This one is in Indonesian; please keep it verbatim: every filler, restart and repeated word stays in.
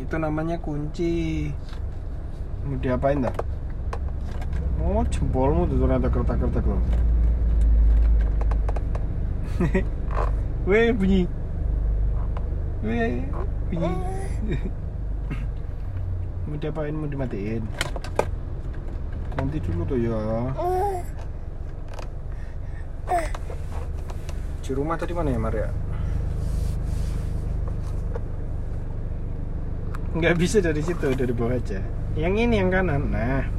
Itu namanya kunci. Mau diapain dah? Oh, jempolmu tuh ternyata kertak-kertak loh. Weh, bunyi. Weh, bunyi. Mau diapain? Mau dimatiin? Nanti dulu tuh ya. Di rumah tadi mana ya, Maria? Nggak bisa dari situ, dari bawah aja. Yang ini yang kanan. Nah,